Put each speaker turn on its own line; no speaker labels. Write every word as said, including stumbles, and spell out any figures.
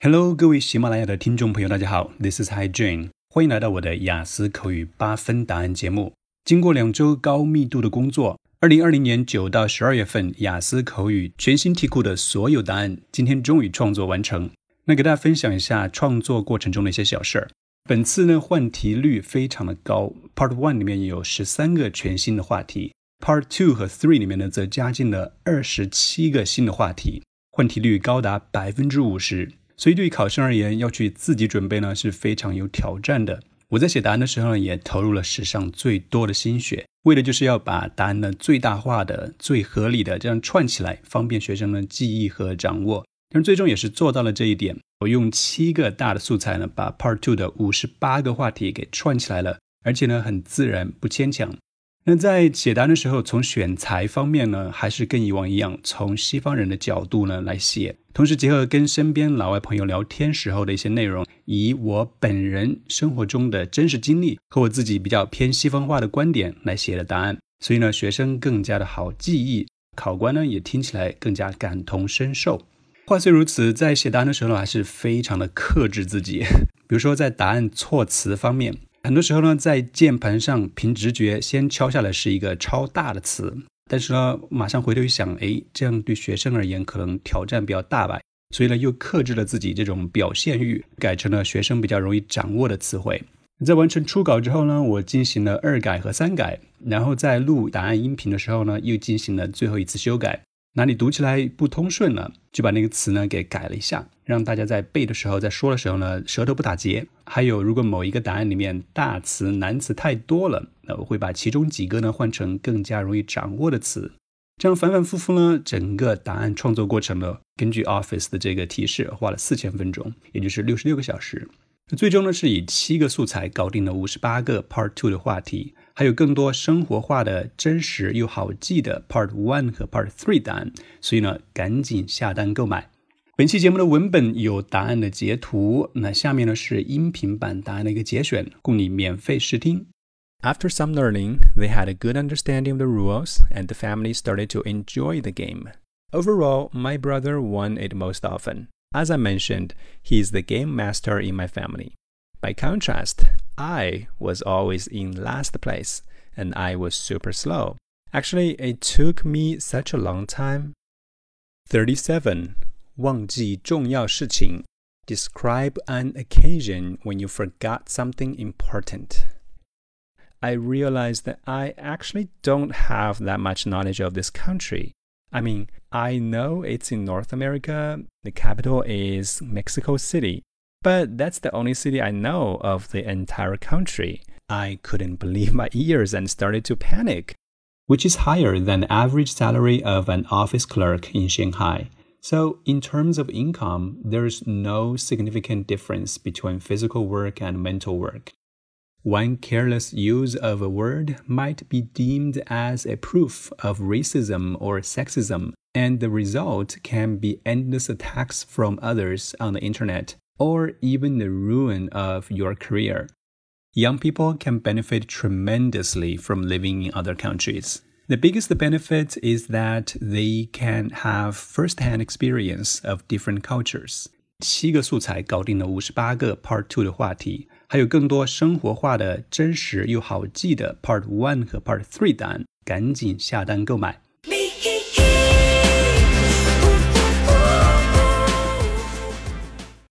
Hello， 各位喜马拉雅的听众朋友，大家好 ，This is Hi Jane， 欢迎来到我的雅思口语八分答案节目。经过两周高密度的工作，二零二零年九到十二月份雅思口语全新题库的所有答案，今天终于创作完成。那给大家分享一下创作过程中的一些小事儿。本次呢换题率非常的高 ，Part One 里面有十三个全新的话题 ，Part Two 和 Three 里面呢则加进了二十七个新的话题，换题率高达百分之五十。所以对于考生而言，要去自己准备呢是非常有挑战的。我在写答案的时候呢，也投入了史上最多的心血，为的就是要把答案呢最大化的、最合理的这样串起来，方便学生呢记忆和掌握。但最终也是做到了这一点。我用七个大的素材呢，把 Part Two 的五十八个话题给串起来了，而且呢很自然不牵强。那在写答案的时候，从选材方面呢，还是跟以往一样，从西方人的角度呢来写，同时结合跟身边老外朋友聊天时候的一些内容，以我本人生活中的真实经历和我自己比较偏西方化的观点来写的答案，所以呢，学生更加的好记忆，考官呢也听起来更加感同身受。话虽如此，在写答案的时候还是非常的克制自己，比如说在答案措辞方面。很多时候呢，在键盘上凭直觉先敲下来是一个超大的词，但是呢，马上回头一想，诶，这样对学生而言可能挑战比较大吧，所以呢，又克制了自己这种表现欲，改成了学生比较容易掌握的词汇。在完成初稿之后呢，我进行了二改和三改，然后在录答案音频的时候呢，又进行了最后一次修改。哪里读起来不通顺了，就把那个词呢给改了一下，让大家在背的时候，在说的时候呢，舌头不打结。还有，如果某一个答案里面大词难词太多了，那我会把其中几个呢换成更加容易掌握的词。这样反反复复呢，整个答案创作过程呢，根据 Office 的这个提示，花了四千分钟，也就是六十六个小时。最终呢，是以七个素材搞定了五十八个 Part Two 的话题，还有更多生活化的、真实又好记的 Part One 和 Part Three 答案，所以呢，赶紧下单购买。本期节目的文本有答案的截图，那下面呢是音频版答案的一个节选，供你免费试听。
After some learning, they had a good understanding of the rules, and the family started to enjoy the game. Overall, my brother won it most often. As I mentioned, he is the game master in my family. By contrast, I was always in last place, and I was super slow. Actually, it took me such a long time.
thirty-seven. 忘记重要事情.
Describe an occasion when you forgot something important. I realized that I actually don't have that much knowledge of this country. I mean, I know it's in North America. The capital is Mexico City. But that's the only city I know of the entire country. I couldn't believe my ears and started to panic.
Which is higher than the average salary of an office clerk in Shanghai. So in terms of income, there's no significant difference between physical work and mental work. One careless use of a word might be deemed as a proof of racism or sexism, and the result can be endless attacks from others on the internet, or even the ruin of your career. Young people can benefit tremendously from living in other countries. The biggest benefit is that they can have first-hand experience of different cultures. 七个素材搞定了五十八个 Part Two 的话题，还有更多生活化的、真实又好记的 Part One 和 Part Three 答案，赶紧下单购买。